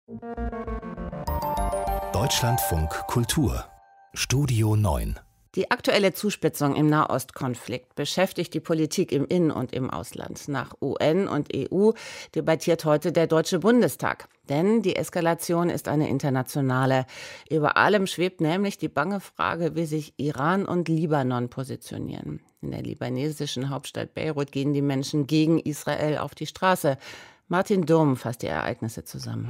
Deutschlandfunk Kultur Studio 9. Die aktuelle Zuspitzung im Nahostkonflikt beschäftigt die Politik im In- und im Ausland. Nach UN und EU debattiert heute der Deutsche Bundestag. Denn die Eskalation ist eine internationale. Über allem schwebt nämlich die bange Frage, wie sich Iran und Libanon positionieren. In der libanesischen Hauptstadt Beirut gehen die Menschen gegen Israel auf die Straße. Martin Durm fasst die Ereignisse zusammen.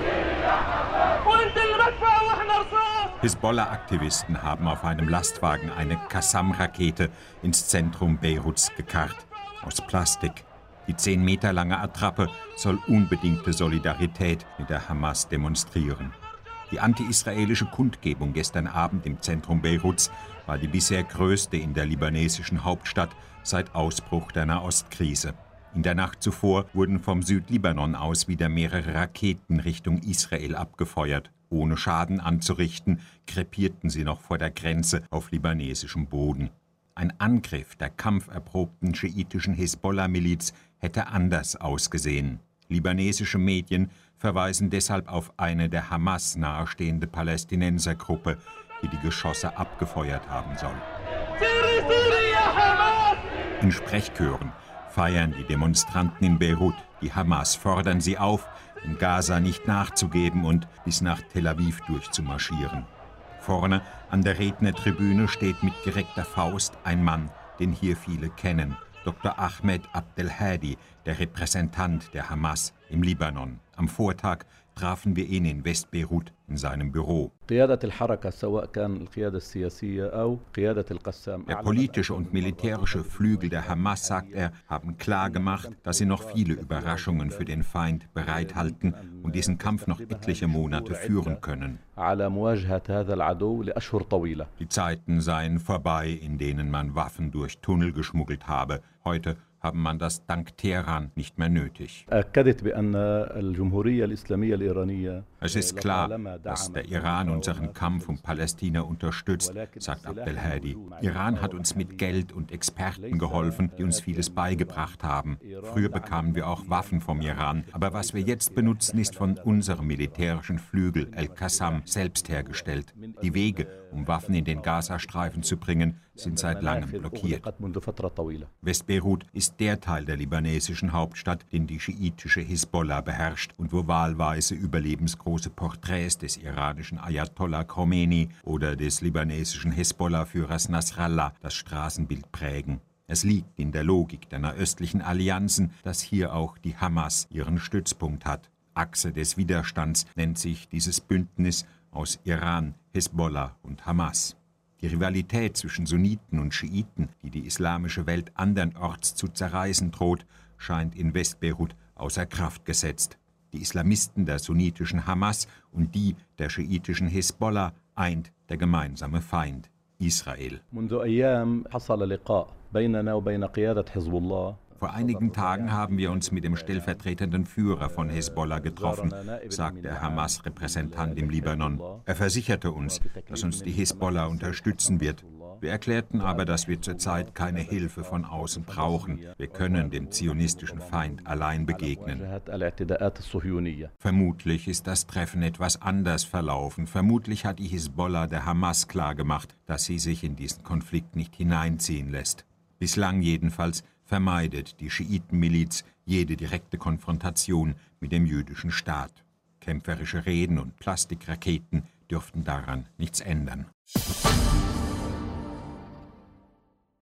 Hisbollah-Aktivisten haben auf einem Lastwagen eine Qassam-Rakete ins Zentrum Beiruts gekarrt. Aus Plastik. Die 10 Meter lange Attrappe soll unbedingte Solidarität mit der Hamas demonstrieren. Die anti-israelische Kundgebung gestern Abend im Zentrum Beiruts war die bisher größte in der libanesischen Hauptstadt seit Ausbruch der Nahostkrise. In der Nacht zuvor wurden vom Südlibanon aus wieder mehrere Raketen Richtung Israel abgefeuert. Ohne Schaden anzurichten, krepierten sie noch vor der Grenze auf libanesischem Boden. Ein Angriff der kampferprobten schiitischen Hisbollah-Miliz hätte anders ausgesehen. Libanesische Medien verweisen deshalb auf eine der Hamas nahestehende Palästinensergruppe, die die Geschosse abgefeuert haben soll. In Sprechchören feiern die Demonstranten in Beirut die Hamas, fordern sie auf, in Gaza nicht nachzugeben und bis nach Tel Aviv durchzumarschieren. Vorne an der Rednertribüne steht mit gereckter Faust ein Mann, den hier viele kennen, Dr. Ahmed Abdelhadi, der Repräsentant der Hamas im Libanon. Am Vortag trafen wir ihn in Westbeirut in seinem Büro. Der politische und militärische Flügel der Hamas, sagt er, haben klar gemacht, dass sie noch viele Überraschungen für den Feind bereithalten und diesen Kampf noch etliche Monate führen können. Die Zeiten seien vorbei, in denen man Waffen durch Tunnel geschmuggelt habe. Heute haben man das dank Teheran nicht mehr nötig. Es ist klar, dass der Iran unseren Kampf um Palästina unterstützt, sagt Abdelhadi. Iran hat uns mit Geld und Experten geholfen, die uns vieles beigebracht haben. Früher bekamen wir auch Waffen vom Iran, aber was wir jetzt benutzen, ist von unserem militärischen Flügel El-Qassam selbst hergestellt. Die Wege, um Waffen in den Gazastreifen zu bringen, sind seit langem blockiert. Westbeirut ist der Teil der libanesischen Hauptstadt, den die schiitische Hisbollah beherrscht und wo wahlweise überlebensgroße Porträts des iranischen Ayatollah Khomeini oder des libanesischen Hisbollah-Führers Nasrallah das Straßenbild prägen. Es liegt in der Logik der nahöstlichen Allianzen, dass hier auch die Hamas ihren Stützpunkt hat. Achse des Widerstands nennt sich dieses Bündnis aus Iran, Hisbollah und Hamas. Die Rivalität zwischen Sunniten und Schiiten, die die islamische Welt andernorts zu zerreißen droht, scheint in Westbeirut außer Kraft gesetzt. Die Islamisten der sunnitischen Hamas und die der schiitischen Hisbollah eint der gemeinsame Feind, Israel. Vor einigen Tagen haben wir uns mit dem stellvertretenden Führer von Hisbollah getroffen, sagt der Hamas-Repräsentant im Libanon. Er versicherte uns, dass uns die Hisbollah unterstützen wird. Wir erklärten aber, dass wir zurzeit keine Hilfe von außen brauchen. Wir können dem zionistischen Feind allein begegnen. Vermutlich ist das Treffen etwas anders verlaufen. Vermutlich hat die Hisbollah der Hamas klargemacht, dass sie sich in diesen Konflikt nicht hineinziehen lässt. Bislang jedenfalls vermeidet die Schiitenmiliz jede direkte Konfrontation mit dem jüdischen Staat. Kämpferische Reden und Plastikraketen dürften daran nichts ändern.